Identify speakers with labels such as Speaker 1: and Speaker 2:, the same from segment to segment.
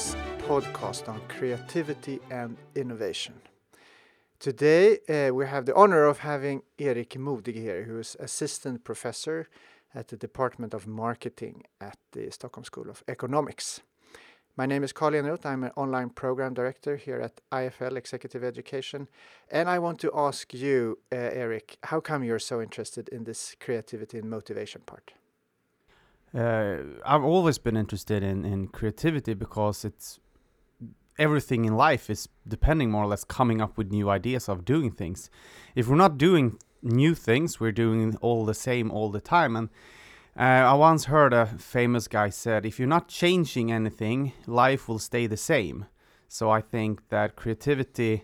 Speaker 1: Stockholm's podcast on creativity and innovation. Today we have the honor of having Erik Modig here, who is assistant professor at the Department of Marketing at the Stockholm School of Economics. My name is Carl Eneroth. I'm an online program director here at IFL Executive Education. And I want to ask you, Erik, how come you're so interested in this creativity and motivation part?
Speaker 2: I've always been interested in creativity because everything in life is depending more or less coming up with new ideas of doing things. If we're not doing new things, we're doing all the same all the time. And I once heard a famous guy said, if you're not changing anything, life will stay the same. So I think that creativity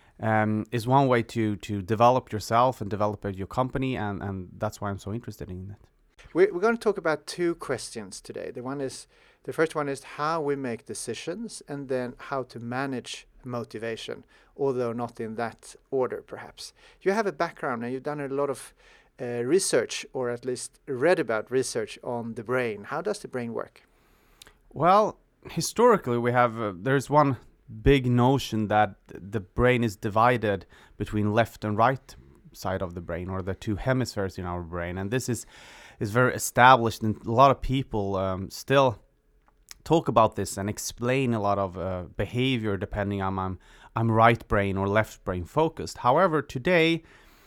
Speaker 2: is one way to develop yourself and develop your company, and that's why I'm so interested in it.
Speaker 1: We're going to talk about two questions today. The first one is how we make decisions, and then how to manage motivation, although not in that order, perhaps. You have a background and you've done a lot of research, or at least read about research on the brain. How does the brain work?
Speaker 2: Well, historically, there's one big notion that the brain is divided between left and right side of the brain, or the two hemispheres in our brain, and this is very established, and a lot of people still talk about this and explain a lot of behavior depending on I'm right brain or left brain focused. However, today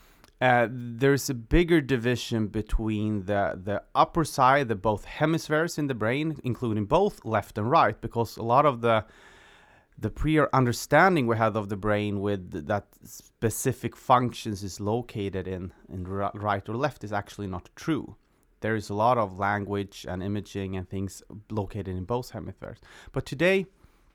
Speaker 2: there's a bigger division between the upper side, the both hemispheres in the brain, including both left and right, because a lot of the prior understanding we have of the brain with that specific functions is located in right or left is actually not true. There is a lot of language and imaging and things located in both hemispheres. But today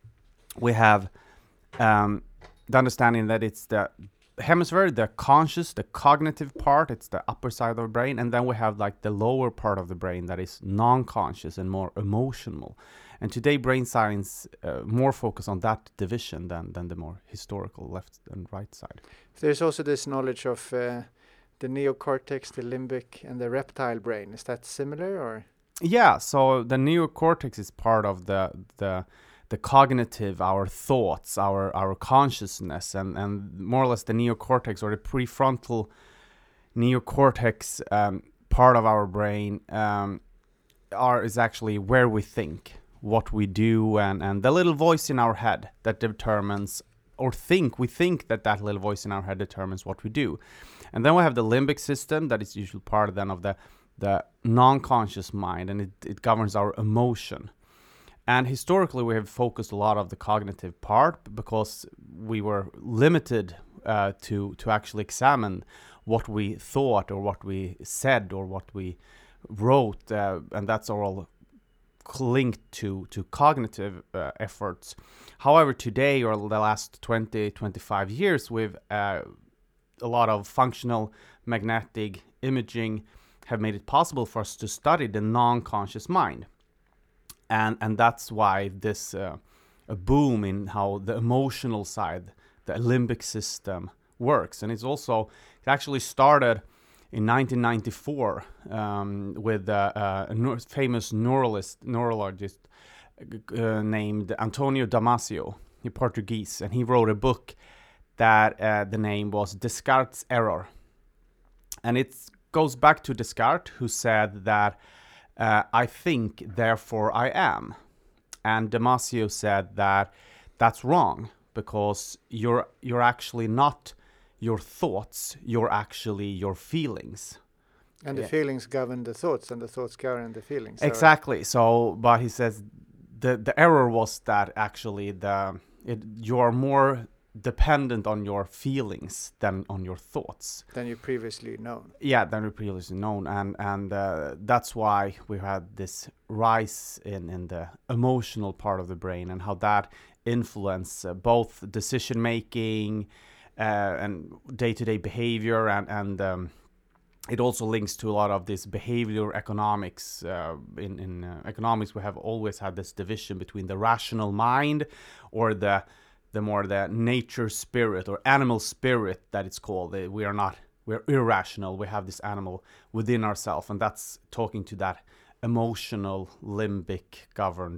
Speaker 2: we have the understanding that it's the hemisphere, the conscious, the cognitive part, it's the upper side of the brain, and then we have like the lower part of the brain that is non-conscious and more emotional. And today brain science more focus on that division than the more historical left and right side.
Speaker 1: There's also this knowledge of the neocortex, the limbic, and the reptile brain. Is that similar, or?
Speaker 2: Yeah, so the neocortex is part of the cognitive, our thoughts, our consciousness, and more or less the neocortex, or the prefrontal neocortex part of our brain is actually where we think, what we do, and the little voice in our head that determines, or we think that little voice in our head determines what we do. And then we have the limbic system that is usually part then of the non-conscious mind, and it governs our emotion. And historically we have focused a lot of the cognitive part because we were limited to actually examine what we thought or what we said or what we wrote, and that's all linked to cognitive efforts. However, today, or the last 20-25 years, we've a lot of functional magnetic imaging have made it possible for us to study the non-conscious mind, and that's why this a boom in how the emotional side, the limbic system works. And it actually started in 1994 with a famous neurologist named Antonio Damasio, he's Portuguese, and he wrote a book that the name was Descartes' Error. And it goes back to Descartes, who said that I think, therefore I am. And Damasio said that that's wrong, because you're actually not your thoughts, you're actually your feelings.
Speaker 1: And the feelings govern the thoughts, and the thoughts govern the feelings.
Speaker 2: Exactly. So, but he says the error was that actually you are more dependent on your feelings than on your thoughts.
Speaker 1: Than you previously known.
Speaker 2: Yeah, than you previously known, and that's why we had this rise in the emotional part of the brain, and how that influence both decision making and day-to-day behavior, and it also links to a lot of this behavioral economics. In economics, we have always had this division between the rational mind, or the nature spirit or animal spirit that it's called. We're irrational. We have this animal within ourselves, and that's talking to that emotional limbic governed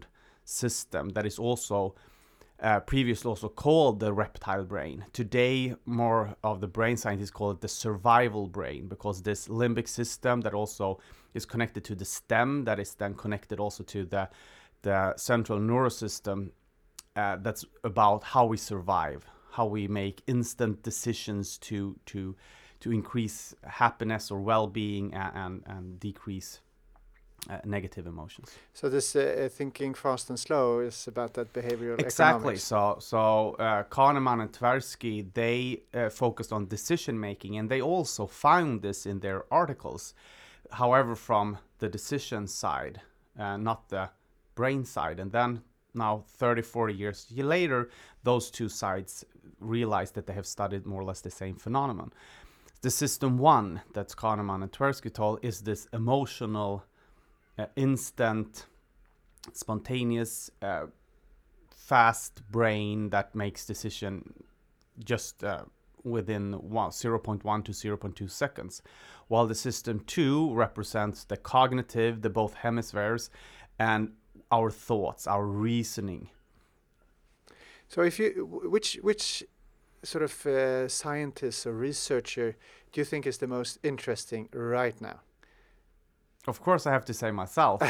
Speaker 2: system that is also previously also called the reptile brain. Today, more of the brain scientists call it the survival brain, because this limbic system that also is connected to the stem, that is then connected also to the central nervous system, that's about how we survive, how we make instant decisions to increase happiness or well-being and decrease negative emotions.
Speaker 1: So this thinking fast and slow is about that behavioral
Speaker 2: Exactly.
Speaker 1: economics.
Speaker 2: So Kahneman and Tversky, they focused on decision making, and they also found this in their articles. However, from the decision side, not the brain side. And then now 30, 40 years later, those two sides realized that they have studied more or less the same phenomenon. The system one that Kahneman and Tversky told is this emotional, instant, spontaneous, fast brain that makes decision just within 0.1 to 0.2 seconds, while the system 2 represents the cognitive, the both hemispheres, and our thoughts, our reasoning.
Speaker 1: So if you, which sort of scientist or researcher do you think is the most interesting right now?
Speaker 2: Of course, I have to say myself.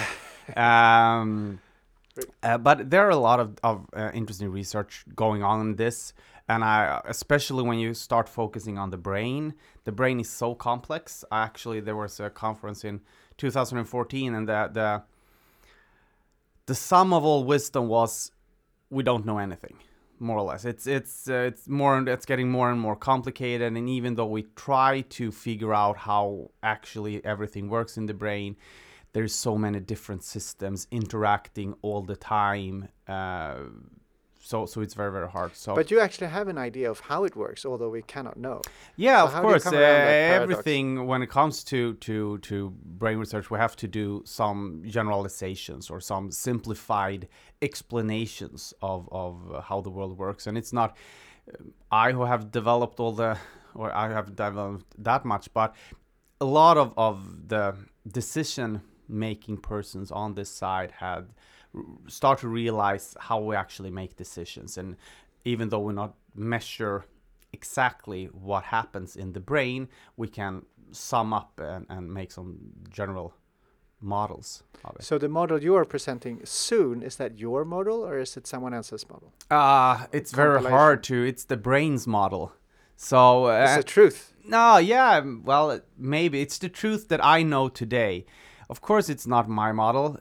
Speaker 2: But there are a lot of interesting research going on in this, and especially when you start focusing on the brain is so complex. Actually, there was a conference in 2014, and the sum of all wisdom was we don't know anything, more or less. It's getting more and more complicated, and even though we try to figure out how actually everything works in the brain, there's so many different systems interacting all the time. So it's very, very hard. So,
Speaker 1: but you actually have an idea of how it works, although we cannot know.
Speaker 2: Yeah,
Speaker 1: so
Speaker 2: of course.
Speaker 1: Everything
Speaker 2: when it comes to brain research, we have to do some generalizations or some simplified explanations of how the world works. And it's not I who have developed I have developed that much, but a lot of the decision-making persons on this side had start to realize how we actually make decisions. And even though we not measure exactly what happens in the brain, we can sum up and make some general models of it.
Speaker 1: So the model you are presenting soon, is that your model or is it someone else's model?
Speaker 2: It's very hard to, it's the brain's model. So
Speaker 1: it's the truth.
Speaker 2: No, yeah, well, maybe it's the truth that I know today. Of course, it's not my model.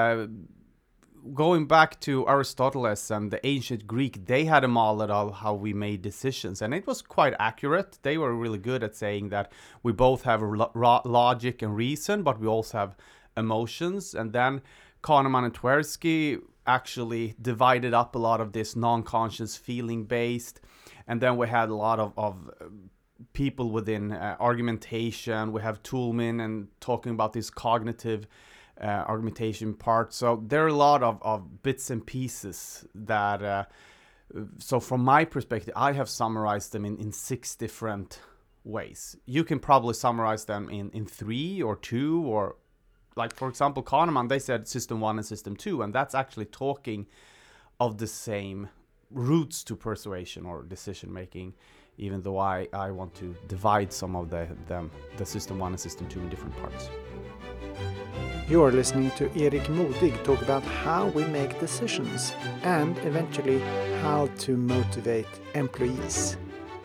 Speaker 2: Going back to Aristotle and the ancient Greek, they had a model of how we made decisions, and it was quite accurate. They were really good at saying that we both have logic and reason, but we also have emotions. And then Kahneman and Tversky actually divided up a lot of this non-conscious feeling-based, and then we had a lot of people within argumentation. We have Toulmin and talking about this cognitive argumentation part. So there are a lot of bits and pieces that so from my perspective, I have summarized them in 6 different ways. You can probably summarize them in 3 or 2, or like, for example, Kahneman, they said system 1 and system 2, and that's actually talking of the same roots to persuasion or decision making, even though I want to divide some of the system 1 and system 2 in different parts.
Speaker 1: You're listening to Erik Modig talk about how we make decisions and eventually how to motivate employees.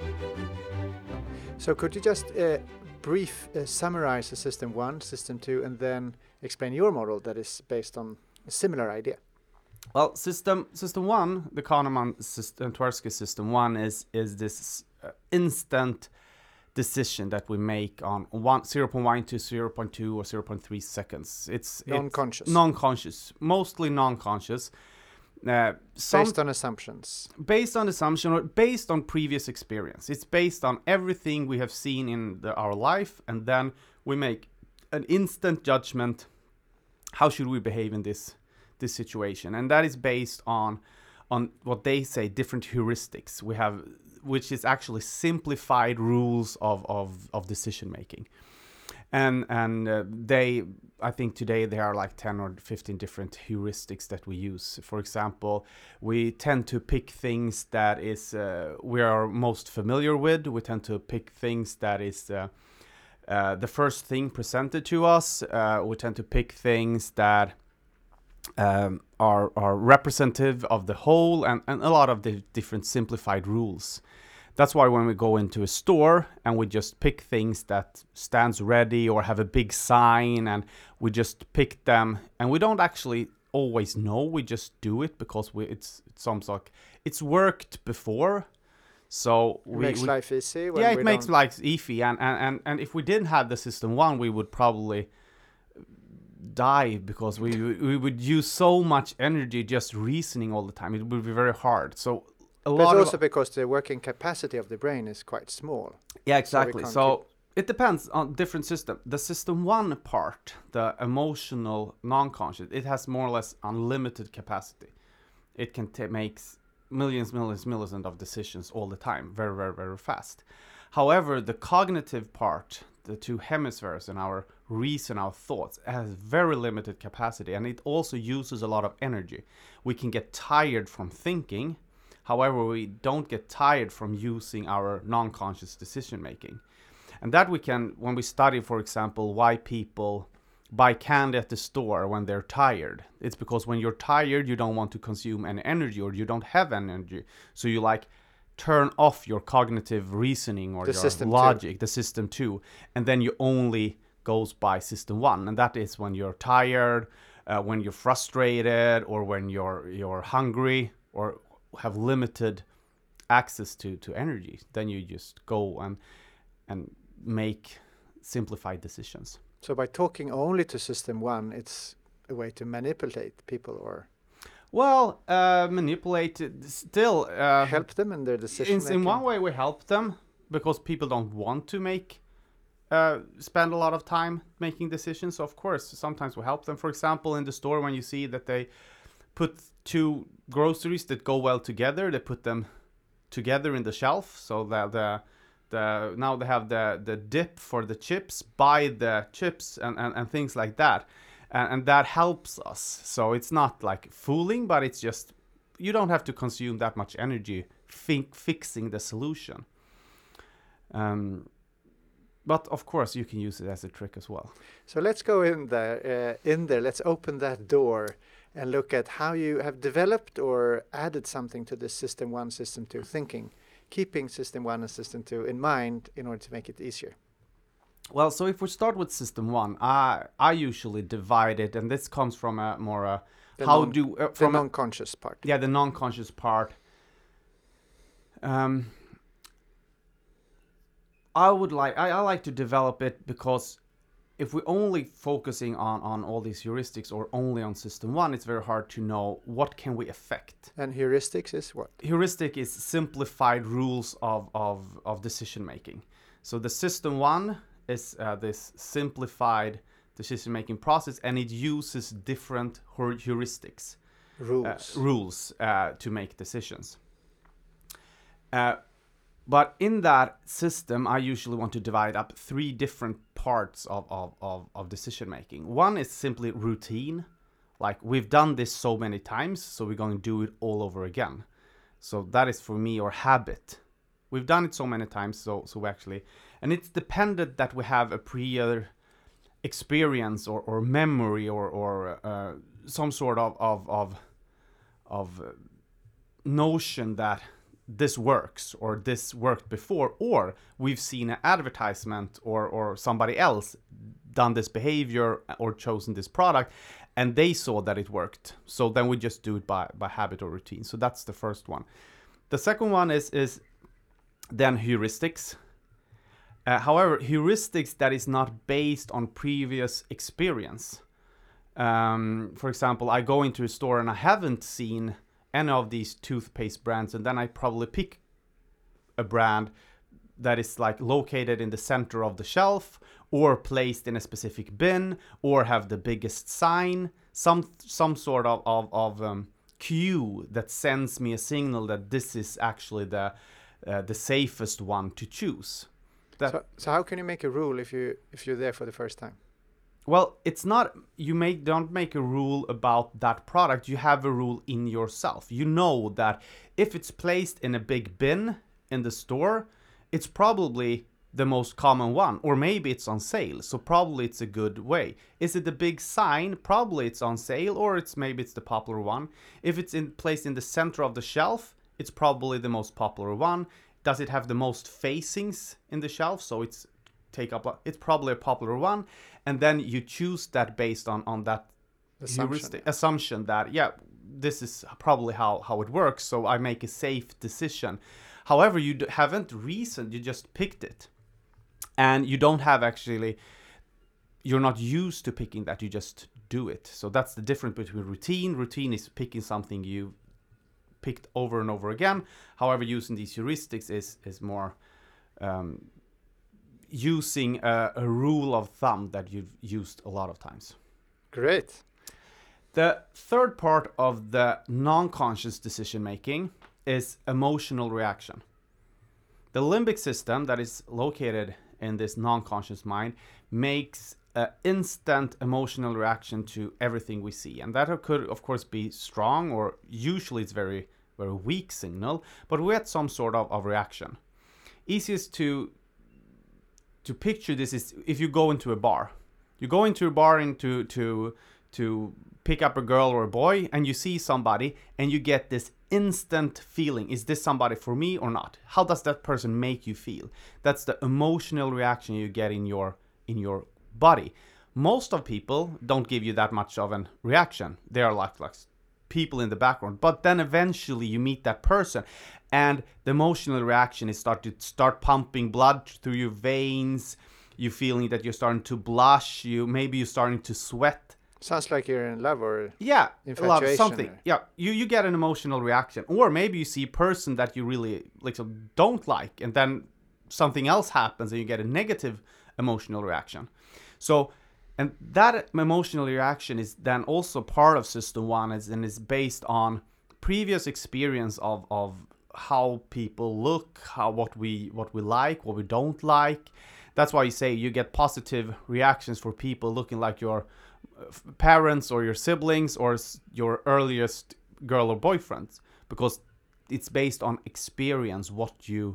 Speaker 1: So could you just summarize the system 1, system 2, and then explain your model that is based on a similar idea?
Speaker 2: Well, system 1, the Kahneman system, Tversky system 1 is this instant decision that we make on 0.1 to 0.2 or 0.3 seconds. It's non-conscious, mostly non-conscious.
Speaker 1: Based on assumptions.
Speaker 2: Based on assumption or based on previous experience. It's based on everything we have seen in our life, and then we make an instant judgment. How should we behave in this situation? And that is based on what they say, different heuristics. We have, which is actually simplified rules of decision making. and they, I think today there are like 10 or 15 different heuristics that we use. For example, we tend to pick things that is we are most familiar with. We tend to pick things that is the first thing presented to us. We tend to pick things that are representative of the whole, and a lot of the different simplified rules. That's why when we go into a store and we just pick things that stands ready or have a big sign, and we just pick them, and we don't actually always know, we just do it because it's sounds like it's worked before. So
Speaker 1: It makes life easy. When
Speaker 2: yeah, it
Speaker 1: we
Speaker 2: makes
Speaker 1: don't-
Speaker 2: life easy, and if we didn't have the system one, we would probably die because we would use so much energy just reasoning all the time. It would be very hard. So a
Speaker 1: But
Speaker 2: lot
Speaker 1: also
Speaker 2: of
Speaker 1: because the working capacity of the brain is quite small.
Speaker 2: yeah, exactly.
Speaker 1: can't
Speaker 2: So it depends on different system. The system one part, the emotional non-conscious, it has more or less unlimited capacity. It can make millions of decisions all the time, very, very, very fast. However, the cognitive part, the two hemispheres in our reason, our thoughts, has very limited capacity, and it also uses a lot of energy. We can get tired from thinking. However, we don't get tired from using our non-conscious decision making. And that we can, when we study, for example, why people buy candy at the store when they're tired. It's because when you're tired, you don't want to consume any energy, or you don't have energy. So you like turn off your cognitive reasoning or
Speaker 1: The
Speaker 2: your
Speaker 1: system
Speaker 2: logic, the system two, and then you only goes by system one. And that is when you're tired, when you're frustrated, or when you're hungry, or have limited access to energy. Then you just go and make simplified decisions.
Speaker 1: So by talking only to system one, it's a way to manipulate people or
Speaker 2: Well, manipulate still.
Speaker 1: help them in their decision making.
Speaker 2: In one way, we help them because people don't want to spend a lot of time making decisions. So of course, sometimes we help them. For example, in the store, when you see that they put two groceries that go well together, they put them together in the shelf, so that now they have the dip for the chips, buy the chips and things like that. And that helps us. So it's not like fooling, but it's just, you don't have to consume that much energy fixing the solution. But of course, you can use it as a trick as well.
Speaker 1: So let's go in there. Let's open that door and look at how you have developed or added something to this system one, system two thinking, keeping system one and system two in mind in order to make it easier.
Speaker 2: Well, so if we start with system one, I usually divide it, and this comes from a more
Speaker 1: The
Speaker 2: how
Speaker 1: non-
Speaker 2: do
Speaker 1: The
Speaker 2: from a,
Speaker 1: non-conscious part.
Speaker 2: yeah, the non-conscious part. I like to develop it because if we're only focusing on all these heuristics or only on system one, it's very hard to know what can we affect.
Speaker 1: And heuristics is what?
Speaker 2: Heuristic is simplified rules of decision making. So the system one is this simplified decision making process, and it uses different heuristics, rules to make decisions. But in that system, I usually want to divide up three different parts of decision making. One is simply routine, like we've done this so many times, so we're going to do it all over again. So that is for me, or habit. We've done it so many times, so we actually, and it's dependent that we have a prior experience or memory or some sort of notion that this works, or this worked before, or we've seen an advertisement or somebody else done this behavior or chosen this product and they saw that it worked. So then we just do it by habit or routine. So that's the first one. The second one is then heuristics. However, heuristics that is not based on previous experience. For example, I go into a store and I haven't seen any of these toothpaste brands, and then I probably pick a brand that is like located in the center of the shelf or placed in a specific bin or have the biggest sign, some sort of cue that sends me a signal that this is actually the safest one to choose.
Speaker 1: So how can you make a rule if you're there for the first time?
Speaker 2: Well, it's not, don't make a rule about that product. You have a rule in yourself. You know that if it's placed in a big bin in the store, it's probably the most common one, or maybe it's on sale, so probably it's a good way. Is it the big sign? Probably it's on sale, or maybe it's the popular one. If it's placed in the center of the shelf, it's probably the most popular one. Does it have the most facings in the shelf? So it's probably a popular one. And then you choose that based on that assumption that, yeah, this is probably how it works, so I make a safe decision. However, you haven't reasoned, you just picked it. And you don't have you're not used to picking that, you just do it. So that's the difference between routine. Routine is picking something you picked over and over again. However, using these heuristics is more using a rule of thumb that you've used a lot of times.
Speaker 1: Great.
Speaker 2: The third part of the non-conscious decision making is emotional reaction. The limbic system that is located in this non-conscious mind makes an instant emotional reaction to everything we see. And that could, of course, be strong, or usually it's very, very weak signal, but we had some sort of reaction. Easiest to picture this is if you go into a bar. You go into a bar to pick up a girl or a boy, and you see somebody, and you get this instant feeling. Is this somebody for me or not? How does that person make you feel? That's the emotional reaction you get in your body. Most of people don't give you that much of a reaction. They are like people in the background. But then eventually you meet that person, and the emotional reaction is start pumping blood through your veins. You're feeling that you're starting to blush. Maybe you're starting to sweat.
Speaker 1: Sounds like you're in love or
Speaker 2: infatuation. Love something. Or... Yeah, you get an emotional reaction, or maybe you see a person that you really don't like, and then something else happens, and you get a negative emotional reaction. So, and that emotional reaction is then also part of System 1, and is based on previous experience of how people look, what we like, what we don't like. That's why you say you get positive reactions for people looking like your parents or your siblings or your earliest girl or boyfriend, because it's based on experience. What you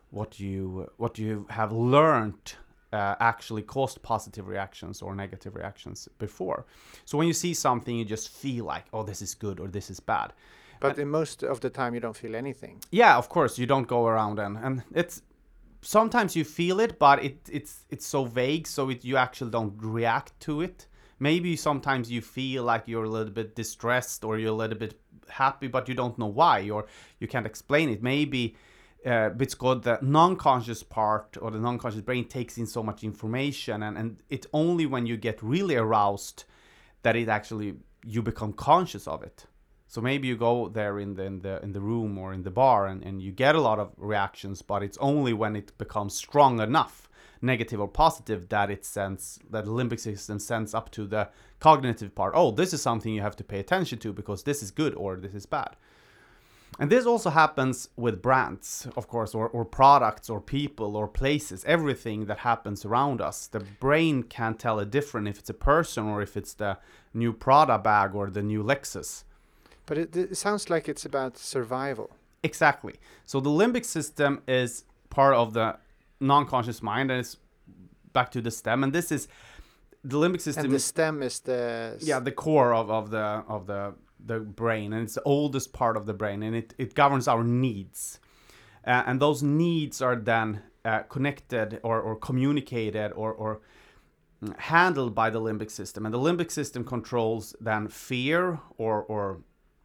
Speaker 2: have learned actually caused positive reactions or negative reactions before. So when you see something, you just feel like, oh, this is good or this is bad.
Speaker 1: But in most of the time, you don't feel anything.
Speaker 2: Yeah, of course, you don't go around and it's sometimes you feel it, but it's so vague, so you actually don't react to it. Maybe sometimes you feel like you're a little bit distressed or you're a little bit happy, but you don't know why, or you can't explain it. Maybe it's called the non-conscious part, or the non-conscious brain takes in so much information, and it's only when you get really aroused that it actually you become conscious of it. So maybe you go there in the room or in the bar and you get a lot of reactions, but it's only when it becomes strong enough, negative or positive, that the limbic system sends up to the cognitive part. Oh, this is something you have to pay attention to because this is good or this is bad. And this also happens with brands, of course, or products or people or places, everything that happens around us. The brain can't tell a difference if it's a person or if it's the new Prada bag or the new Lexus.
Speaker 1: But it sounds like it's about survival.
Speaker 2: Exactly. So the limbic system is part of the non-conscious mind, and it's back to the stem. And this is the limbic system.
Speaker 1: And the stem is the
Speaker 2: core of the brain, and it's the oldest part of the brain, and it governs our needs. And those needs are then connected or communicated or handled by the limbic system. And the limbic system controls then fear or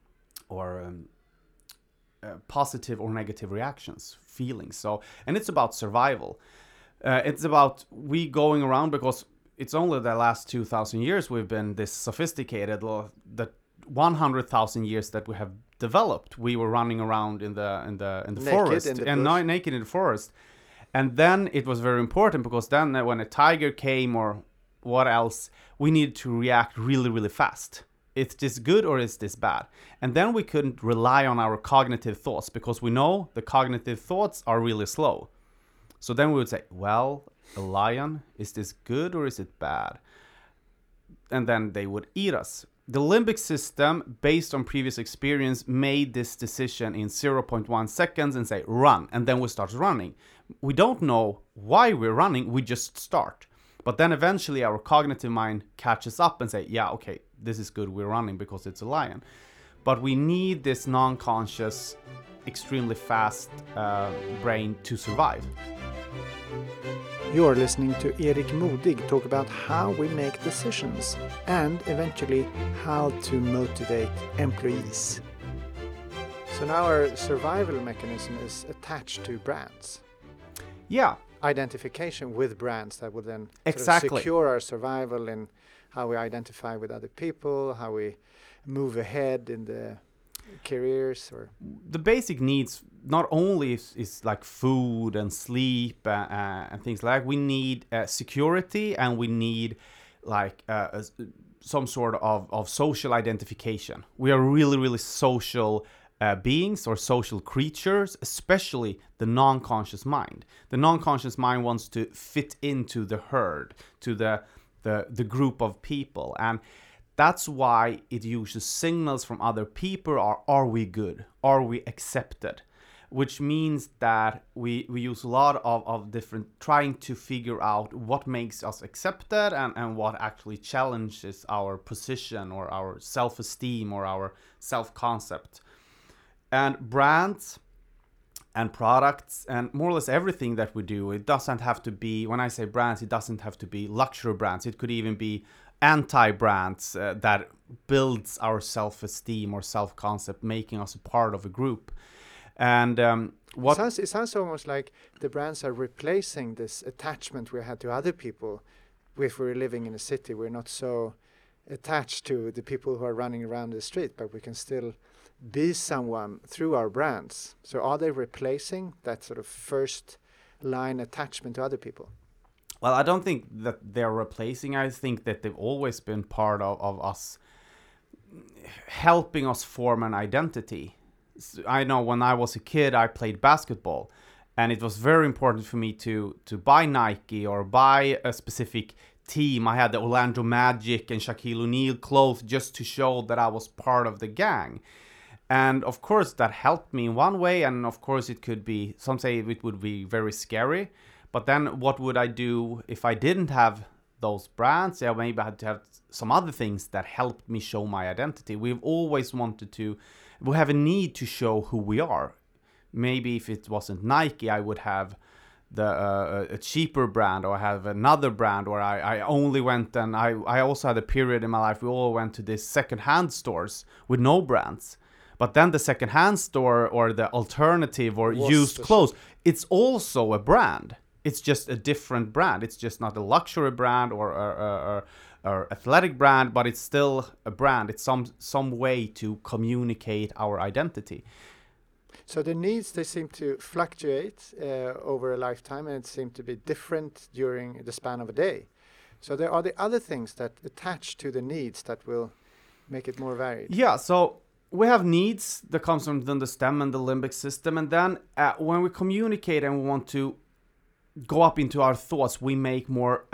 Speaker 2: positive or negative reactions, feelings. So, and it's about survival. It's about we going around, because it's only the last 2,000 years we've been this sophisticated. The 100,000 years that we have developed, we were running around in the forest and naked in the forest. And then it was very important, because then when a tiger came or what else, we needed to react really, really fast. Is this good or is this bad? And then we couldn't rely on our cognitive thoughts, because we know the cognitive thoughts are really slow. So then we would say, well, a lion, is this good or is it bad? And then they would eat us. The limbic system, based on previous experience, made this decision in 0.1 seconds and say, run. And then we start running. We don't know why we're running, we just start. But then eventually our cognitive mind catches up and say, yeah, okay, this is good, we're running because it's a lion. But we need this non-conscious, extremely fast brain to survive.
Speaker 1: You're listening to Erik Modig talk about how we make decisions and eventually how to motivate employees. So now our survival mechanism is attached to brands.
Speaker 2: Yeah.
Speaker 1: Identification with brands that will then
Speaker 2: exactly
Speaker 1: sort of secure our survival in how we identify with other people, how we move ahead in the careers. Or
Speaker 2: the basic needs not only is like food and sleep and things like that. We need security, and we need like some sort of social identification. We are really, really social beings or social creatures, especially the non-conscious mind. The non-conscious mind wants to fit into the herd, to the group of people, and that's why it uses signals from other people. Are we good? Are we accepted? Which means that we use a lot of different, trying to figure out what makes us accepted and what actually challenges our position or our self-esteem or our self-concept. And brands and products and more or less everything that we do, it doesn't have to be, when I say brands, it doesn't have to be luxury brands. It could even be anti-brands that builds our self-esteem or self-concept, making us a part of a group. And
Speaker 1: it sounds almost like the brands are replacing this attachment we had to other people. If we're living in a city, we're not so attached to the people who are running around the street, but we can still be someone through our brands. So are they replacing that sort of first line attachment to other people?
Speaker 2: Well, I don't think that they're replacing. I think that they've always been part of us, helping us form an identity. I know when I was a kid, I played basketball, and it was very important for me to buy Nike or buy a specific team. I had the Orlando Magic and Shaquille O'Neal clothes just to show that I was part of the gang. And of course, that helped me in one way, and of course, it could be, some say it would be very scary. But then what would I do if I didn't have those brands? Yeah, maybe I had to have some other things that helped me show my identity. We've always wanted to, we have a need to show who we are. Maybe if it wasn't Nike, I would have a cheaper brand, or have another brand, or I only went, and I also had a period in my life we all went to these secondhand stores with no brands. But then the secondhand store or the alternative or used clothes, it's also a brand. It's just a different brand. It's just not a luxury brand or athletic brand, but it's still a brand. It's some way to communicate our identity.
Speaker 1: So the needs, they seem to fluctuate over a lifetime, and it seems to be different during the span of a day. So there are the other things that attach to the needs that will make it more varied.
Speaker 2: Yeah, so we have needs that comes from the stem and the limbic system. And then when we communicate and we want to go up into our thoughts, we make more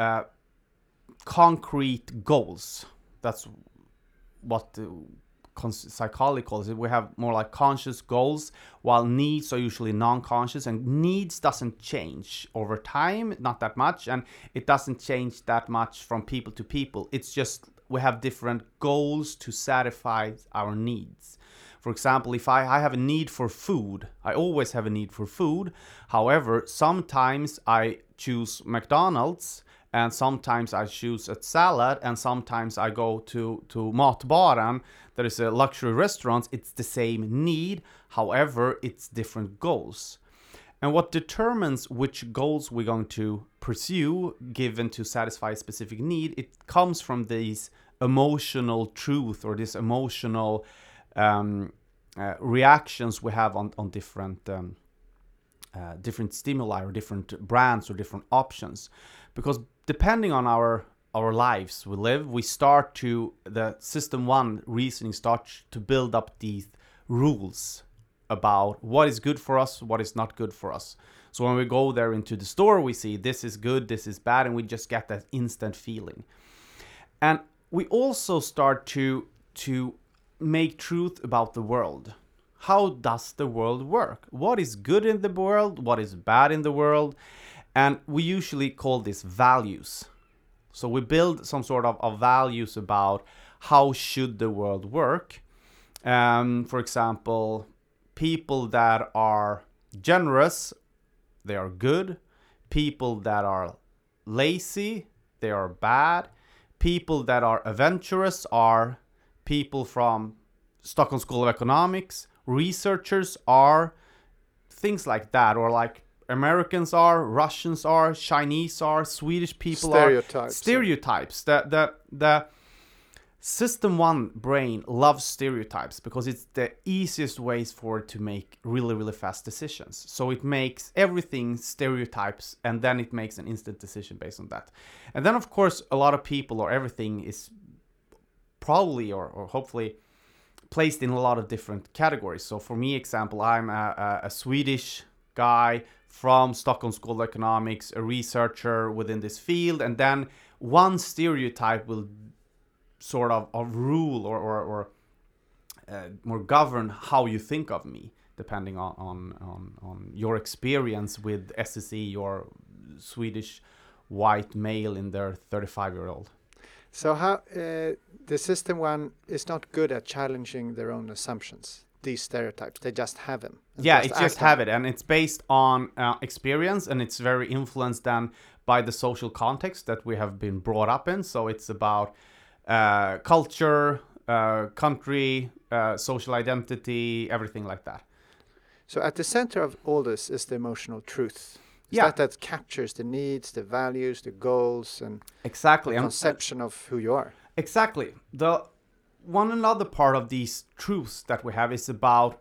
Speaker 2: concrete goals. That's what psychology calls it. We have more like conscious goals, while needs are usually non-conscious, and needs doesn't change over time, not that much, and it doesn't change that much from people to people. It's just we have different goals to satisfy our needs. For example, if I have a need for food, I always have a need for food. However, sometimes I choose McDonald's, and sometimes I choose a salad, and sometimes I go to Matbaren. There is a luxury restaurant. It's the same need. However, it's different goals. And what determines which goals we're going to pursue, given to satisfy a specific need, it comes from these emotional truth or this emotional reactions we have on different different stimuli or different brands or different options. Because depending on our lives we live, we start to, the system one reasoning starts to build up these rules about what is good for us, what is not good for us. So when we go there into the store, we see this is good, this is bad, and we just get that instant feeling. And we also start to make truth about the world. How does the world work? What is good in the world? What is bad in the world? And we usually call this values. So we build some sort of values about how should the world work. For example, people that are generous, they are good. People that are lazy, they are bad. People that are adventurous are people from Stockholm School of Economics. Researchers are things like that, or like Americans are, Russians are, Chinese are, Swedish people are. Stereotypes. The System 1 brain loves stereotypes because it's the easiest ways for it to make really, really fast decisions. So it makes everything stereotypes, and then it makes an instant decision based on that. And then, of course, a lot of people or everything is probably or hopefully placed in a lot of different categories. So for me, example, I'm a Swedish guy from Stockholm School of Economics, a researcher within this field, and then one stereotype will sort of rule or more govern how you think of me, depending on your experience with SSE, your Swedish white male in their 35-year-old.
Speaker 1: So how the System 1 is not good at challenging their own assumptions, these stereotypes. They just have them.
Speaker 2: Yeah, it just have it, and it's based on experience, and it's very influenced then by the social context that we have been brought up in. So it's about culture, country, social identity, everything like that.
Speaker 1: So at the center of all this is the emotional truth. That captures the needs, the values, the goals, and
Speaker 2: exactly
Speaker 1: the conception of who you are.
Speaker 2: Exactly. The one another part of these truths that we have is about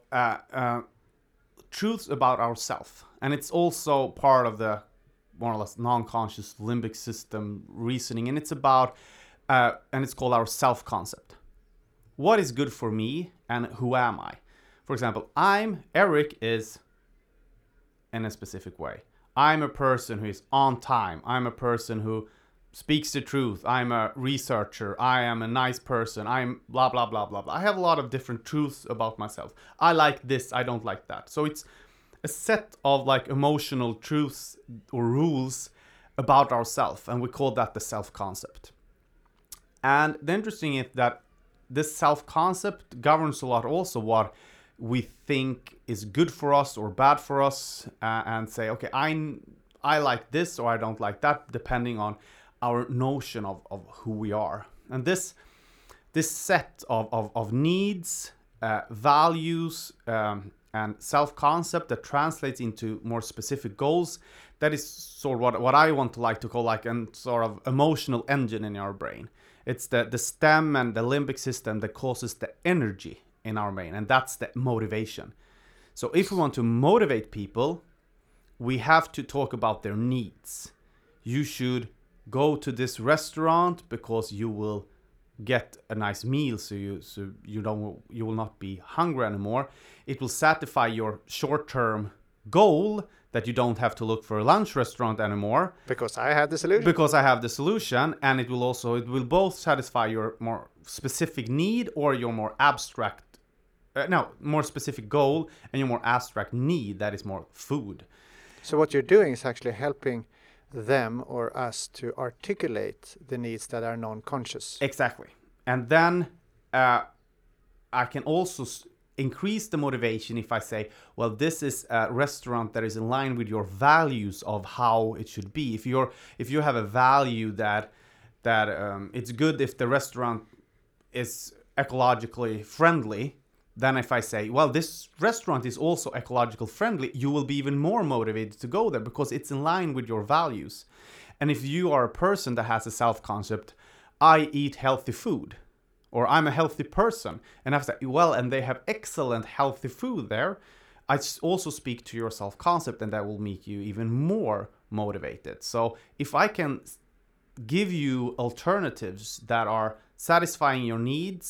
Speaker 2: truths about ourselves, and it's also part of the more or less non-conscious limbic system reasoning, and it's about and it's called our self-concept. What is good for me, and who am I? For example, Eric is in a specific way. I'm a person who is on time. I'm a person who speaks the truth. I'm a researcher. I am a nice person. I'm blah, blah, blah, blah, blah. I have a lot of different truths about myself. I like this. I don't like that. So it's a set of like emotional truths or rules about ourselves. And we call that the self-concept. And the interesting is that this self-concept governs a lot also what we think is good for us or bad for us, and say, okay, I like this or I don't like that, depending on our notion of who we are. And this set of needs, values, and self-concept that translates into more specific goals, that is sort of what I want to like to call like a sort of emotional engine in our brain. It's the stem and the limbic system that causes the energy in our brain, and that's the motivation. So if we want to motivate people, we have to talk about their needs. You should go to this restaurant because you will get a nice meal, so you will not be hungry anymore. It will satisfy your short-term goal that you don't have to look for a lunch restaurant anymore.
Speaker 1: Because I have the solution.
Speaker 2: Because I have the solution, and it will both satisfy your more specific need or your more abstract more specific goal and your more abstract need, that is more food.
Speaker 1: So what you're doing is actually helping them or us to articulate the needs that are non-conscious.
Speaker 2: Exactly. And then I can also increase the motivation if I say, well, this is a restaurant that is in line with your values of how it should be. If you have a value that it's good if the restaurant is ecologically friendly, then if I say, well, this restaurant is also ecological friendly, you will be even more motivated to go there because it's in line with your values. And if you are a person that has a self-concept, I eat healthy food, or I'm a healthy person, and I say, well, and they have excellent healthy food there, I also speak to your self-concept, and that will make you even more motivated. So if I can give you alternatives that are satisfying your needs,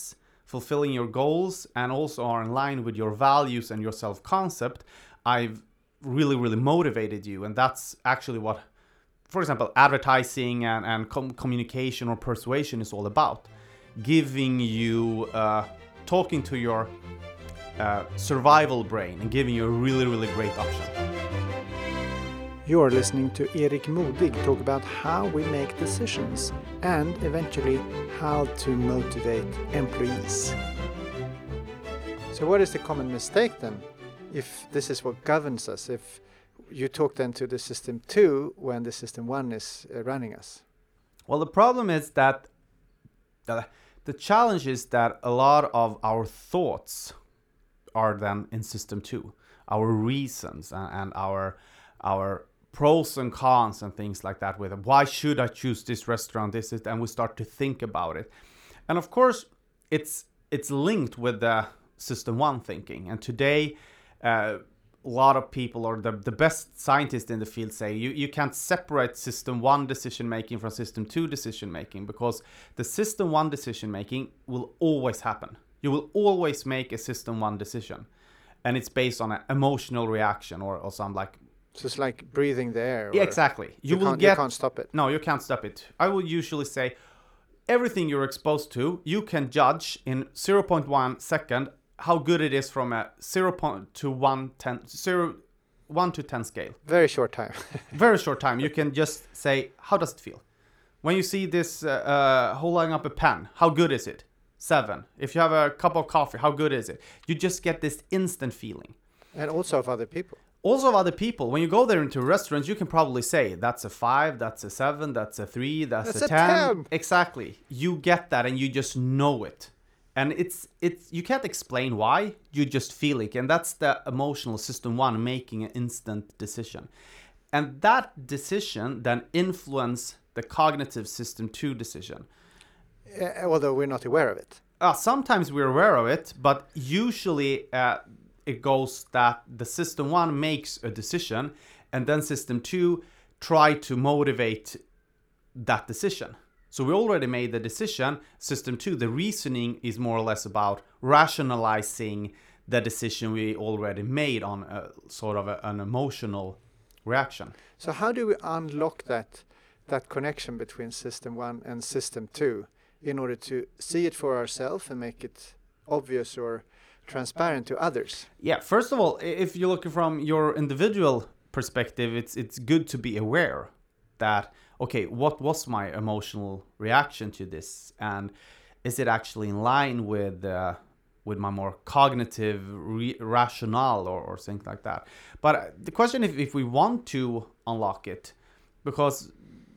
Speaker 2: fulfilling your goals and also are in line with your values and your self-concept, I've really motivated you. And that's actually what, for example, advertising and communication or persuasion is all about. Giving you, talking to your survival brain and giving you a really great option.
Speaker 1: You're listening to Erik Modig talk about how we make decisions and eventually how to motivate employees. So what is the common mistake then, if this is what governs us, if you talk then to the system 2 when the system 1 is running us?
Speaker 2: Well, the problem is that the challenge is that a lot of our thoughts are then in system 2, our reasons and our pros and cons and things like that, with why should I choose this restaurant, and we start to think about it. And of course it's linked with the system 1 thinking. And today a lot of people, or the best scientists in the field, say you can't separate system 1 decision making from system 2 decision making, because the system 1 decision making will always happen. You will always make a system 1 decision, and it's based on an emotional reaction or some like.
Speaker 1: So it's like breathing the air.
Speaker 2: Yeah, exactly. You
Speaker 1: can't stop it.
Speaker 2: No, you can't stop it. I will usually say everything you're exposed to, you can judge in 0.1 second how good it is from a 1 to 10 scale.
Speaker 1: Very short time.
Speaker 2: Very short time. You can just say, how does it feel? When you see this holding up a pen, how good is it? 7. If you have a cup of coffee, how good is it? You just get this instant feeling.
Speaker 1: And also of other people.
Speaker 2: Also of other people. When you go there into restaurants, you can probably say, that's a 5, that's a 7, that's a 3, that's a 10. Exactly. You get that and you just know it. And it's you can't explain why, you just feel it. And that's the emotional system 1 making an instant decision. And that decision then influence the cognitive system 2 decision.
Speaker 1: Although we're not aware of it.
Speaker 2: Sometimes we're aware of it, but usually it goes that the system 1 makes a decision and then system 2 try to motivate that decision. So we already made the decision. System 2, the reasoning is more or less about rationalizing the decision we already made on a sort of an emotional reaction.
Speaker 1: So how do we unlock that connection between system 1 and system 2 in order to see it for ourselves and make it obvious or transparent to others?
Speaker 2: Yeah, first of all, if you're looking from your individual perspective, it's good to be aware that, okay, what was my emotional reaction to this, and is it actually in line with my more cognitive rationale or things like that. But the question if we want to unlock it, because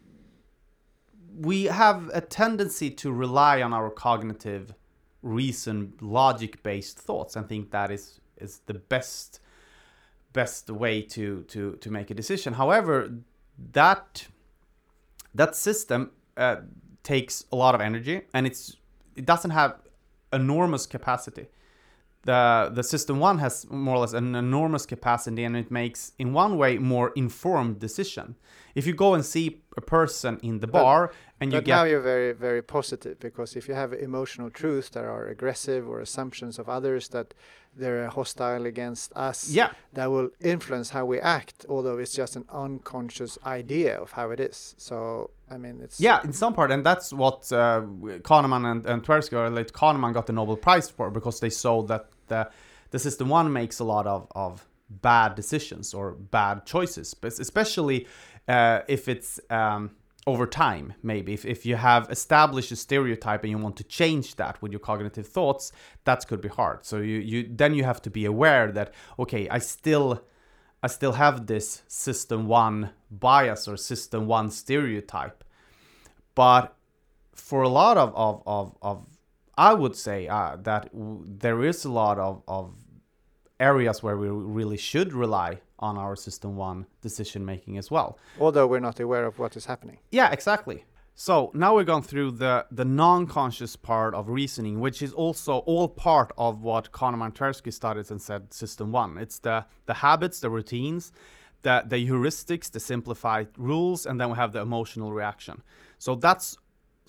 Speaker 2: we have a tendency to rely on our cognitive reason, logic-based thoughts, and think that is the best way to make a decision. However, that system takes a lot of energy, and it doesn't have enormous capacity. The system 1 has more or less an enormous capacity, and it makes, in one way, more informed decision. If you go and see a person in the bar and you get...
Speaker 1: Now you're very, very positive, because if you have emotional truths that are aggressive or assumptions of others that they're hostile against us, that will influence how we act, although it's just an unconscious idea of how it is. So, I mean, it's...
Speaker 2: Yeah, in some part, and that's what Kahneman and Tversky, or like Kahneman got the Nobel Prize for, because they saw that the system 1 makes a lot of bad decisions or bad choices, but especially if it's over time. Maybe if you have established a stereotype and you want to change that with your cognitive thoughts, that could be hard. So you have to be aware that, okay, I still have this system 1 bias or system 1 stereotype, but for a lot of I would say that there is a lot of areas where we really should rely on our system 1 decision making as well.
Speaker 1: Although we're not aware of what is happening.
Speaker 2: Yeah, exactly. So now we've gone through the non-conscious part of reasoning, which is also all part of what Kahneman and Tversky studied and said system 1. It's the habits, the routines, the heuristics, the simplified rules, and then we have the emotional reaction. So that's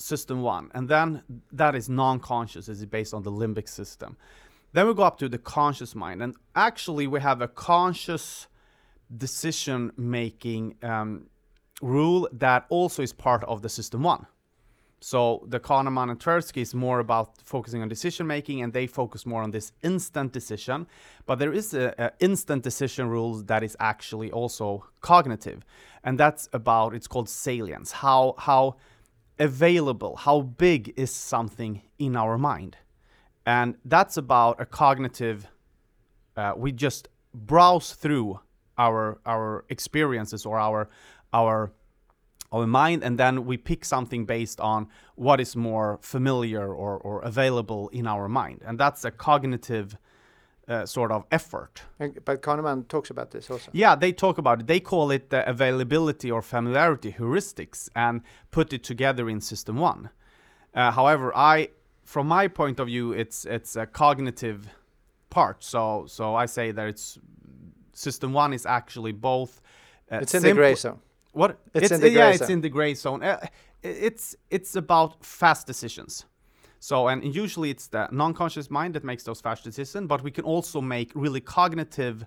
Speaker 2: system 1, and then that is non-conscious, is based on the limbic system. Then we go up to the conscious mind, and actually we have a conscious decision making rule that also is part of the system 1. So the Kahneman and Tversky is more about focusing on decision making, and they focus more on this instant decision. But there is a instant decision rule that is actually also cognitive, and that's about, it's called salience. How available, how big is something in our mind, and that's about a cognitive. We just browse through our experiences or our mind, and then we pick something based on what is more familiar or available in our mind, and that's a cognitive sort of effort.
Speaker 1: But Kahneman talks about this also.
Speaker 2: Yeah, they talk about it. They call it the availability or familiarity heuristics, and put it together in system 1. However, from my point of view, it's a cognitive part. So I say that it's system 1 is actually both.
Speaker 1: It's in the gray zone.
Speaker 2: What?
Speaker 1: It's in the gray zone.
Speaker 2: It's in the gray zone. It's about fast decisions. So, and usually it's the non-conscious mind that makes those fast decisions, but we can also make really cognitive,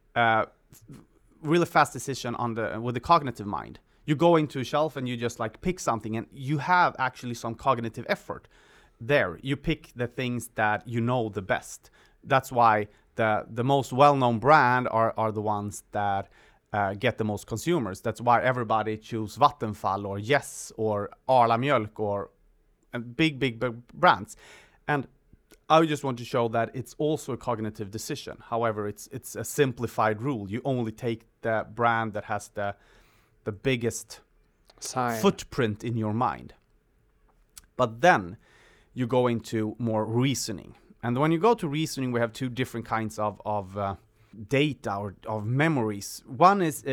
Speaker 2: really fast decision with the cognitive mind. You go into a shelf and you just like pick something, and you have actually some cognitive effort there. You pick the things that you know the best. That's why the most well-known brand are the ones that get the most consumers. That's why everybody choose Vattenfall or Yes or Arla Mjölk or big brands. And I just want to show that it's also a cognitive decision. However, it's a simplified rule. You only take the brand that has the biggest footprint in your mind. But then you go into more reasoning. And when you go to reasoning, we have two different kinds of data or of memories. One is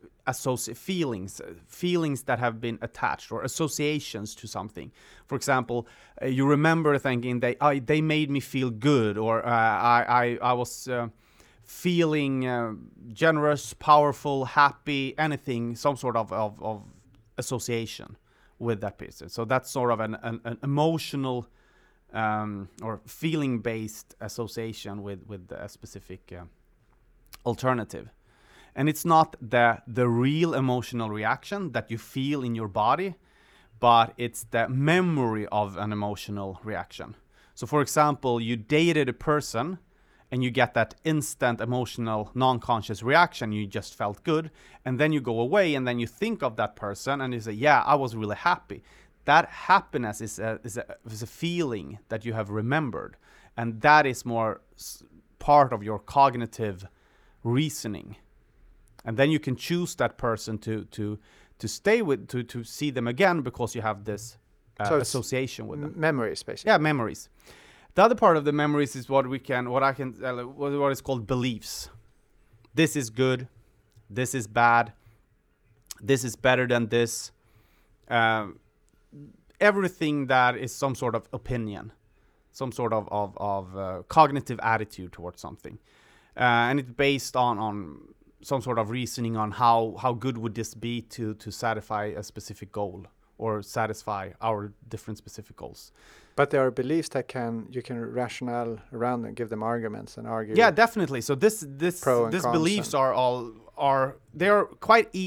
Speaker 2: feelings that have been attached, or associations to something. For example, you remember thinking they made me feel good, or I was feeling generous, powerful, happy, anything, some sort of association with that person. So that's sort of an emotional or feeling-based association with a specific alternative. And it's not the real emotional reaction that you feel in your body, but it's the memory of an emotional reaction. So for example, you dated a person and you get that instant emotional non-conscious reaction, you just felt good, and then you go away and then you think of that person and you say, yeah, I was really happy. That happiness is a feeling that you have remembered, and that is more part of your cognitive reasoning. And then you can choose that person to stay with, to see them again, because you have this association with them.
Speaker 1: Memories, basically.
Speaker 2: Yeah, memories. The other part of the memories is what is called beliefs. This is good. This is bad. This is better than this. Everything that is some sort of opinion, some sort of cognitive attitude towards something, and it's based on some sort of reasoning on how good would this be to satisfy a specific goal, or satisfy our different specific goals.
Speaker 1: But there are beliefs that you can rationale around and give them arguments and argue.
Speaker 2: Yeah, definitely. So these beliefs they are quite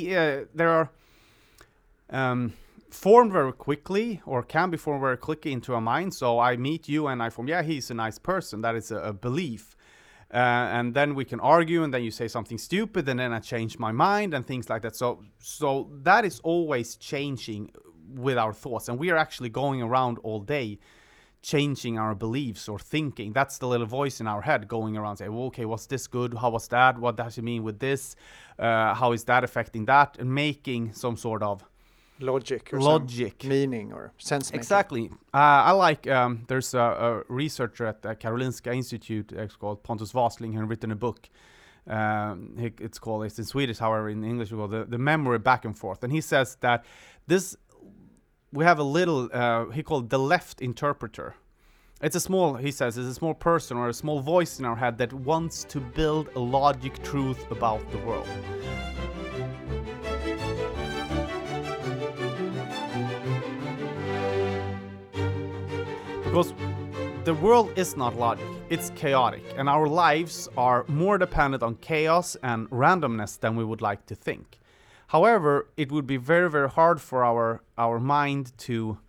Speaker 2: formed very quickly, or can be formed very quickly into a mind. So I meet you and I form, yeah, he's a nice person. That is a belief. And then we can argue, and then you say something stupid, and then I change my mind and things like that. So that is always changing with our thoughts, and we are actually going around all day changing our beliefs or thinking. That's the little voice in our head going around saying, well, okay, what's this good? How was that? What does it mean with this? How is that affecting that? And making some sort of
Speaker 1: logic, meaning or sense making.
Speaker 2: Exactly. I like, there's a researcher at the Karolinska Institute called Pontus Wasling, who has written a book. It's in Swedish, however, in English, we call the memory back and forth. And he says that we have a little, he called the left interpreter. It's a small person or a small voice in our head that wants to build a logic truth about the world. Because the world is not logic, it's chaotic, and our lives are more dependent on chaos and randomness than we would like to think. However, it would be very, very hard for our mind to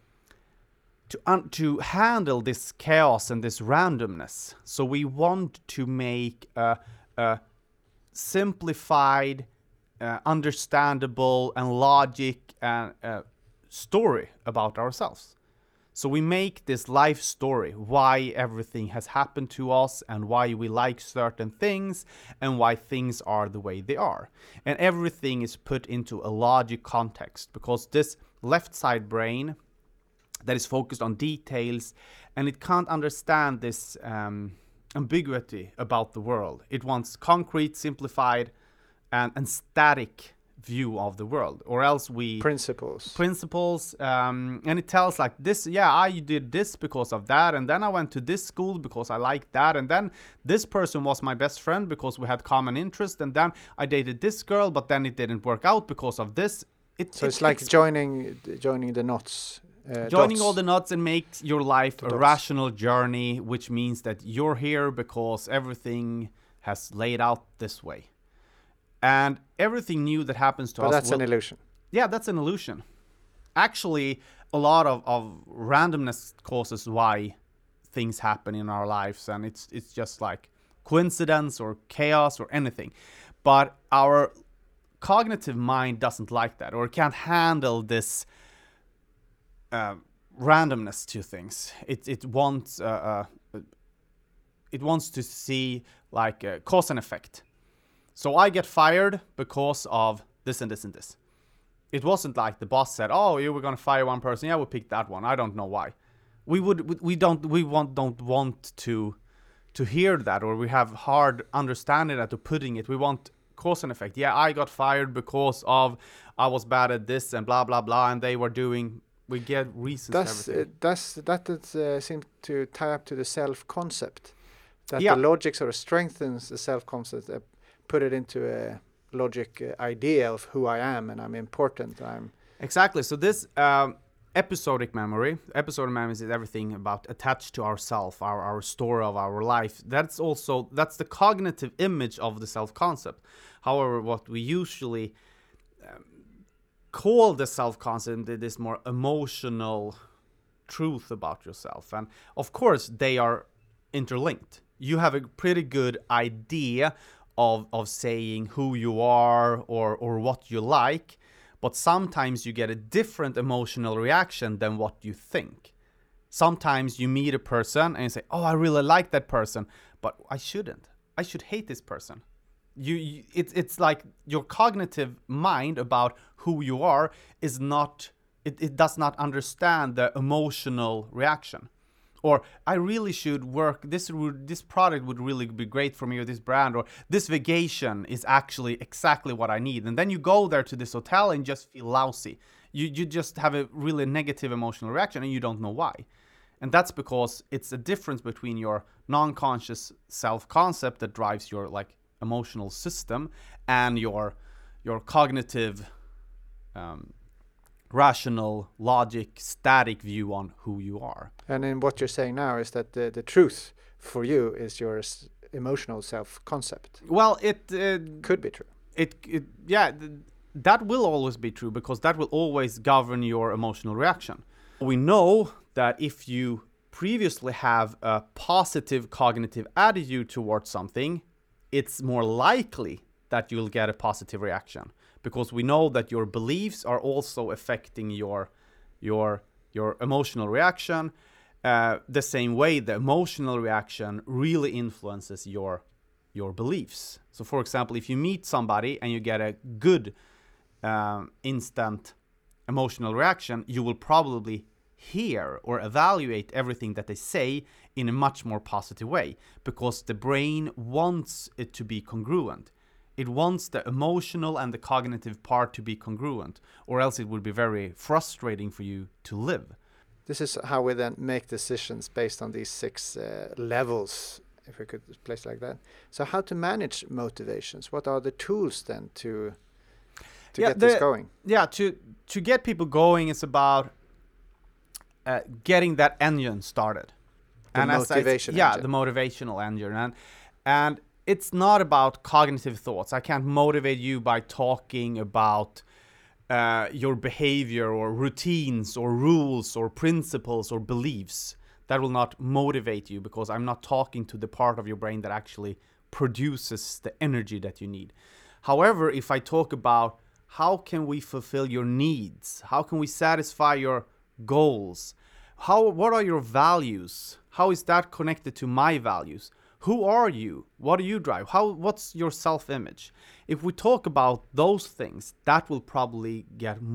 Speaker 2: handle this chaos and this randomness. So we want to make a simplified, understandable, and logic story about ourselves. So we make this life story, why everything has happened to us and why we like certain things and why things are the way they are. And everything is put into a logic context, because this left side brain that is focused on details, and it can't understand this ambiguity about the world. It wants concrete, simplified, and static view of the world, or else we
Speaker 1: principles,
Speaker 2: and it tells like this, yeah, I did this because of that, and then I went to this school because I liked that, and then this person was my best friend because we had common interest, and then I dated this girl, but then it didn't work out because of this.
Speaker 1: It's like joining the knots.
Speaker 2: Joining all the knots and makes your life a rational journey, which means that you're here because everything has laid out this way. And everything new that happens to us...
Speaker 1: But that's an illusion.
Speaker 2: Yeah, that's an illusion. Actually, a lot of randomness causes why things happen in our lives, and it's just like coincidence or chaos or anything. But our cognitive mind doesn't like that, or can't handle this randomness to things. It wants to see like cause and effect. So I get fired because of this and this and this. It wasn't like the boss said, "Oh, you were gonna fire one person. Yeah, we picked that one. I don't know why." We don't want to hear that, or we have hard understanding that, or putting it. We want cause and effect. Yeah, I got fired because of I was bad at this and blah blah blah, and they were doing. We get reasons.
Speaker 1: That seems to tie up to the self-concept. That
Speaker 2: Yeah.
Speaker 1: the logic sort of strengthens the self-concept. Put it into a logic idea of who I am, and I'm important.
Speaker 2: Exactly. So this episodic memory is everything about attached to ourself, our story of our life. That's the cognitive image of the self-concept. However, what we usually call the self-concept this more emotional truth about yourself. And of course, they are interlinked. You have a pretty good idea of saying who you are or what you like, but sometimes you get a different emotional reaction than what you think. Sometimes you meet a person and you say, "Oh, I really like that person, but I shouldn't. I should hate this person." It's like your cognitive mind about who you are is not, it does not understand the emotional reaction. Or I really should work, this product would really be great for me, or this brand, or this vacation is actually exactly what I need. And then you go there to this hotel and just feel lousy. You just have a really negative emotional reaction and you don't know why. And that's because it's a difference between your non-conscious self-concept that drives your like emotional system and your cognitive rational, logic, static view on who you are.
Speaker 1: And in what you're saying now is that the truth for you is your emotional self-concept.
Speaker 2: Well, it
Speaker 1: could be true.
Speaker 2: That will always be true, because that will always govern your emotional reaction. We know that if you previously have a positive cognitive attitude towards something, it's more likely that you'll get a positive reaction, because we know that your beliefs are also affecting your emotional reaction. The same way the emotional reaction really influences your beliefs. So for example, if you meet somebody and you get a good instant emotional reaction, you will probably hear or evaluate everything that they say in a much more positive way, because the brain wants it to be congruent. It wants the emotional and the cognitive part to be congruent, or else it would be very frustrating for you to live.
Speaker 1: This is how we then make decisions based on these 6 levels, if we could place it like that. So how to manage motivations? What are the tools then to get this going?
Speaker 2: Yeah, to get people going, it's about getting that engine started.
Speaker 1: The motivation engine.
Speaker 2: The motivational engine. And it's not about cognitive thoughts. I can't motivate you by talking about your behavior or routines or rules or principles or beliefs. That will not motivate you, because I'm not talking to the part of your brain that actually produces the energy that you need. However, if I talk about how can we fulfill your needs, how can we satisfy your goals, what are your values, how is that connected to my values, who are you, what do you drive, what's your self-image? If we talk about those things, that will probably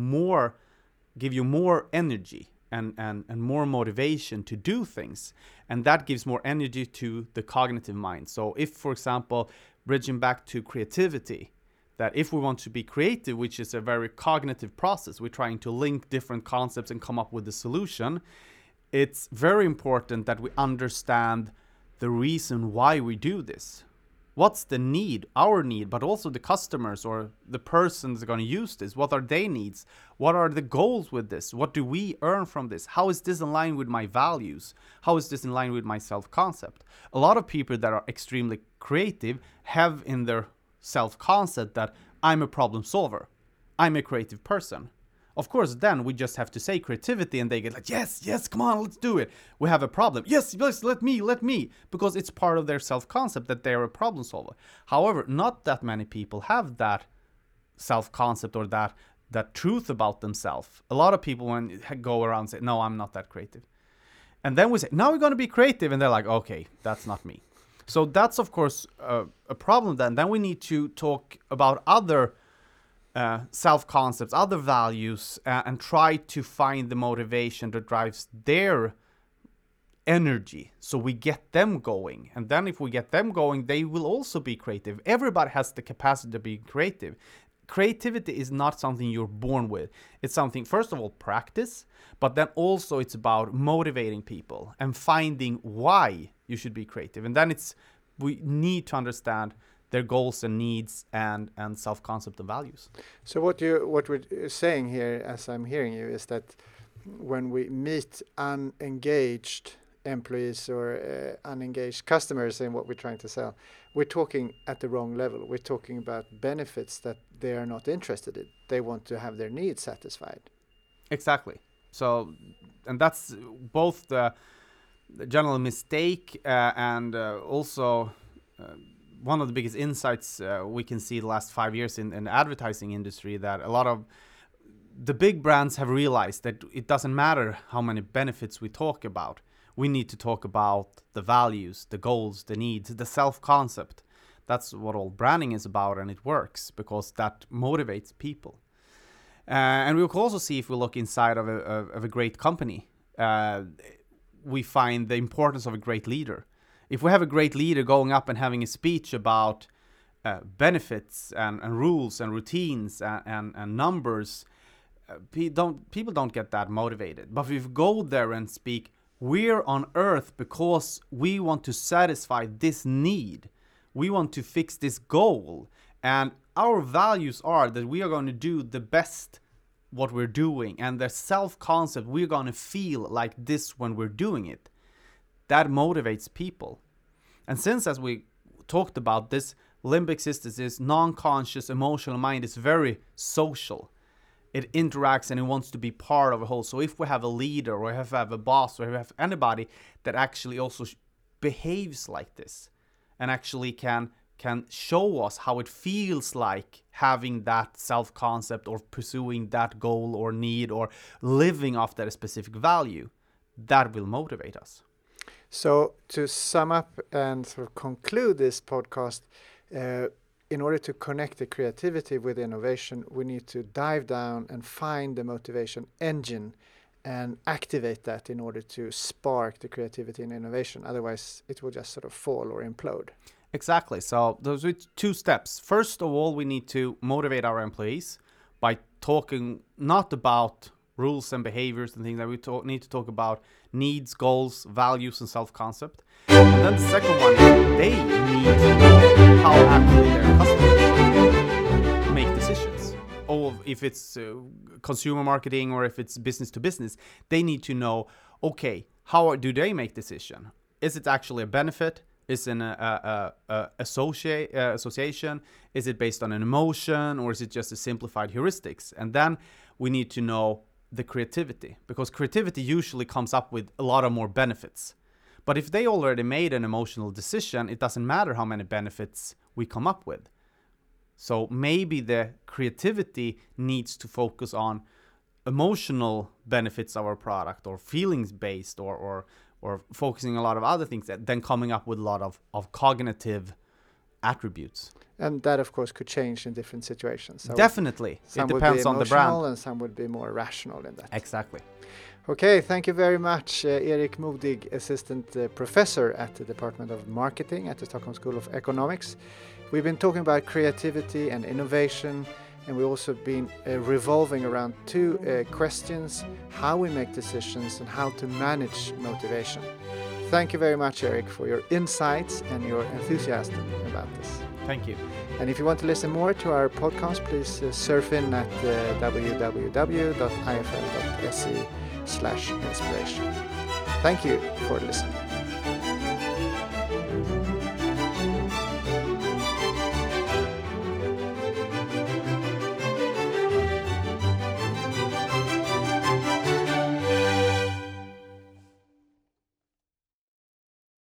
Speaker 2: give you more energy and more motivation to do things, and that gives more energy to the cognitive mind. So if, for example, bridging back to creativity, that if we want to be creative, which is a very cognitive process, we're trying to link different concepts and come up with a solution, it's very important that we understand the reason why we do this. What's the need, our need, but also the customers or the person that's going to use this? What are their needs? What are the goals with this? What do we earn from this? How is this in line with my values? How is this in line with my self-concept? A lot of people that are extremely creative have in their self-concept that I'm a problem solver. I'm a creative person. Of course, then we just have to say creativity and they get like, yes, come on, let's do it. We have a problem. Yes, let me. Because it's part of their self-concept that they're a problem solver. However, not that many people have that self-concept or that truth about themselves. A lot of people when go around say, no, I'm not that creative. And then we say, now we're going to be creative. And they're like, okay, that's not me. So that's, of course, a problem then. Then we need to talk about other self-concepts, other values, and try to find the motivation that drives their energy, so we get them going. And then if we get them going, they will also be creative. Everybody has the capacity to be creative. Creativity is not something you're born with. It's something, first of all, practice, but then also it's about motivating people and finding why you should be creative. And then we need to understand their goals and needs and self-concept and values.
Speaker 1: So what we're saying here, as I'm hearing you, is that when we meet unengaged employees or unengaged customers in what we're trying to sell, we're talking at the wrong level. We're talking about benefits that they are not interested in. They want to have their needs satisfied.
Speaker 2: Exactly. So, and that's both the general mistake and also one of the biggest insights we can see the last 5 years in the advertising industry, that a lot of the big brands have realized that it doesn't matter how many benefits we talk about. We need to talk about the values, the goals, the needs, the self-concept. That's what all branding is about, and it works because that motivates people. And we can also see, if we look inside of a great company, we find the importance of a great leader. If we have a great leader going up and having a speech about benefits and rules and routines and numbers, people don't get that motivated. But if we go there and speak, we're on earth because we want to satisfy this need. We want to fix this goal. And our values are that we are going to do the best what we're doing. And the self-concept, we're going to feel like this when we're doing it. That motivates people. And since, as we talked about, this limbic system, this non-conscious emotional mind is very social. It interacts and it wants to be part of a whole. So if we have a leader or if we have a boss or if we have anybody that actually also behaves like this and actually can show us how it feels like having that self-concept or pursuing that goal or need or living off that specific value, that will motivate us.
Speaker 1: So to sum up and sort of conclude this podcast, in order to connect the creativity with innovation, we need to dive down and find the motivation engine and activate that in order to spark the creativity and innovation. Otherwise, it will just sort of fall or implode.
Speaker 2: Exactly. So those are 2 steps. First of all, we need to motivate our employees by talking not about rules and behaviors and things that we need to talk about needs, goals, values, and self-concept. And then the second one is they need to know how actually their customers make decisions. if it's consumer marketing or if it's business to business, they need to know, okay, how do they make decision? Is it actually a benefit? Is it an association? Is it based on an emotion, or is it just a simplified heuristics? And then we need to know the creativity, because creativity usually comes up with a lot of more benefits. But if they already made an emotional decision, it doesn't matter how many benefits we come up with. So maybe the creativity needs to focus on emotional benefits of our product, or feelings based, or focusing a lot of other things, that then coming up with a lot of cognitive attributes.
Speaker 1: And that, of course, could change in different situations. So
Speaker 2: definitely. It depends on the brand.
Speaker 1: And some would be more rational in that.
Speaker 2: Exactly.
Speaker 1: Okay, thank you very much, Erik Modig, Assistant Professor at the Department of Marketing at the Stockholm School of Economics. We've been talking about creativity and innovation, and we've also been revolving around two questions: how we make decisions and how to manage motivation. Thank you very much, Erik, for your insights and your enthusiasm about this.
Speaker 2: Thank you.
Speaker 1: And if you want to listen more to our podcast, please surf in at www.ifl.se/inspiration. Thank you for listening.